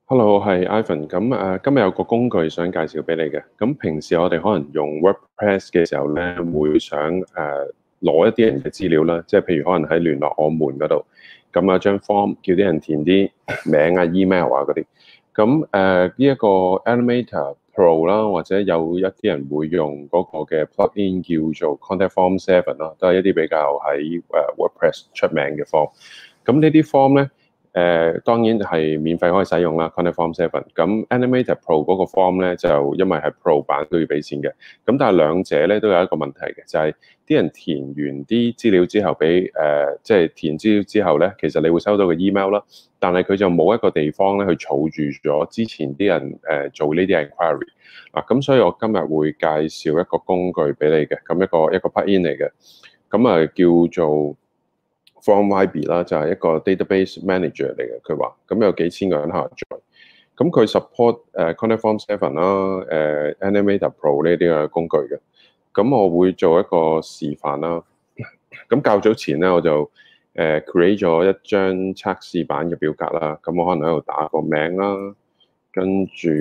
Hello，係 Ivan。今日有個工具想介紹俾你嘅。咁平時我哋可能用 WordPress 嘅時候咧，會想攞一啲人嘅資料啦，即係譬如可能喺聯絡我們嗰度，咁有張 form 叫啲人填啲名啊、email 啊嗰啲。咁呢一個 Animator Pro 啦，或者有一啲人會用嗰個嘅 plugin 叫做 Contact Form 7啦，都係一啲比較喺WordPress 出名嘅 form。咁呢啲 form 咧。當然係免費可以使用啦 Contact Form 7。咁 Animator Pro 嗰個 form 咧就因為係 Pro 版都要俾錢嘅。咁但係兩者咧都有一個問題嘅，就係啲人填完啲資料之後俾即係填資料之後咧，其實你會收到個 email 啦，但係佢就冇一個地方咧去儲住咗之前啲人做呢啲 inquiry 嗱。咁所以我今日會介紹一個工具俾你嘅，咁一個 plugin 嚟嘅，咁叫做FormYB 啦，就係一個 database manager 嚟嘅。佢話咁有幾千個人下載，咁佢 support Contact Form 7啦、Animator Pro 呢啲嘅工具嘅。咁我會做一個示範啦。咁較早前咧我就create 咗一張測試版嘅表格啦。咁我可能喺度打個名啦，跟住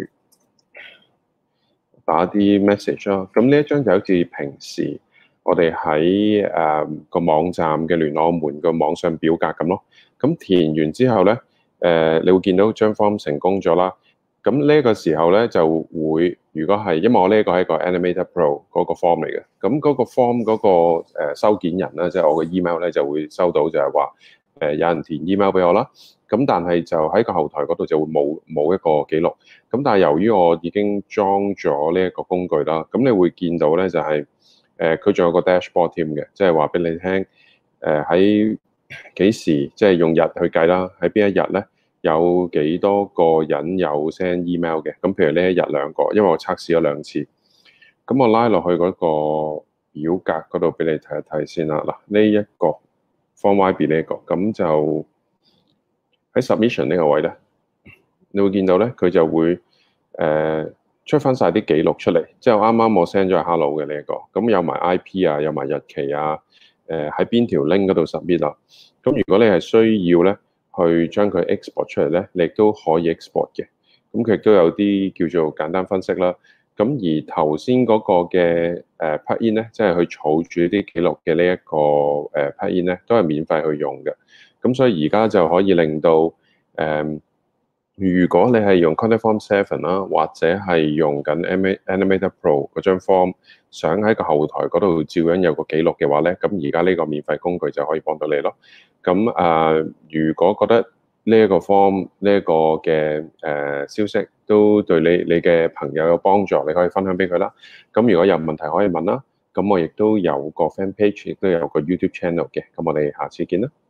打啲 message 啦。咁呢一張就好似平時我哋喺個網站嘅聯絡我們個網上表格咁咯。咁填完之後咧，你會見到張 form 成功咗啦。咁呢個時候咧就會，如果係因為我呢個係一個 Animator Pro 嗰個 form 嚟嘅，咁嗰個 form 嗰個收件人咧，即係我嘅 email 咧就會收到就係話有人填 email 俾我啦。咁但係就喺個後台嗰度就會冇一個記錄。咁但係由於我已經裝咗呢一個工具啦，咁你會見到咧就係佢仲有個 dashboard 添嘅，即係話俾你聽喺幾時即係用日去計啦，喺邊一日咧有幾多個人有 send email 嘅。咁譬如呢一日兩個，因為我測試咗2次。咁我拉落去嗰個表格嗰度俾你睇一睇先啦。嗱，呢一個 FormYB 呢一個，咁就喺 submission 呢個位咧，你會見到咧佢就會出翻晒啲記錄出嚟，即係啱啱我 send 咗係 hello 嘅呢一個，咁有埋 IP 啊，有埋日期啊，喺邊條 link 嗰度 submit 啦。咁如果你係需要咧，去將佢 export 出嚟咧，你亦都可以 export 嘅。咁佢亦都有啲叫做簡單分析啦。咁而頭先嗰個嘅plugin咧，即係去儲住啲記錄嘅呢一個plugin咧，都係免費去用嘅。咁所以而家就可以令到如果你係用 Contact Form 7啦，或者係用緊 Animator Pro 嗰張 form，想喺個後台嗰度照樣有個記錄嘅話咧，咁而家呢個免費工具就可以幫到你咯。咁如果覺得呢一個 form 呢一個嘅消息都對你嘅朋友有幫助，你可以分享俾佢啦。咁如果有問題可以問啦。咁我亦都有個 fan page，亦都有個 YouTube channel 嘅。咁我哋下次見啦。